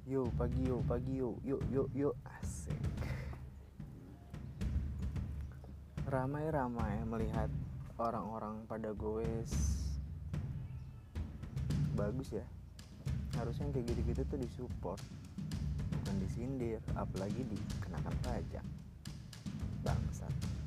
Yo pagi yo, yuk asik. Ramai-ramai melihat orang-orang pada goes. Bagus ya. Harusnya yang kayak gitu-gitu tuh disupport, bukan disindir, apalagi dikenakan pajak. Bangsat.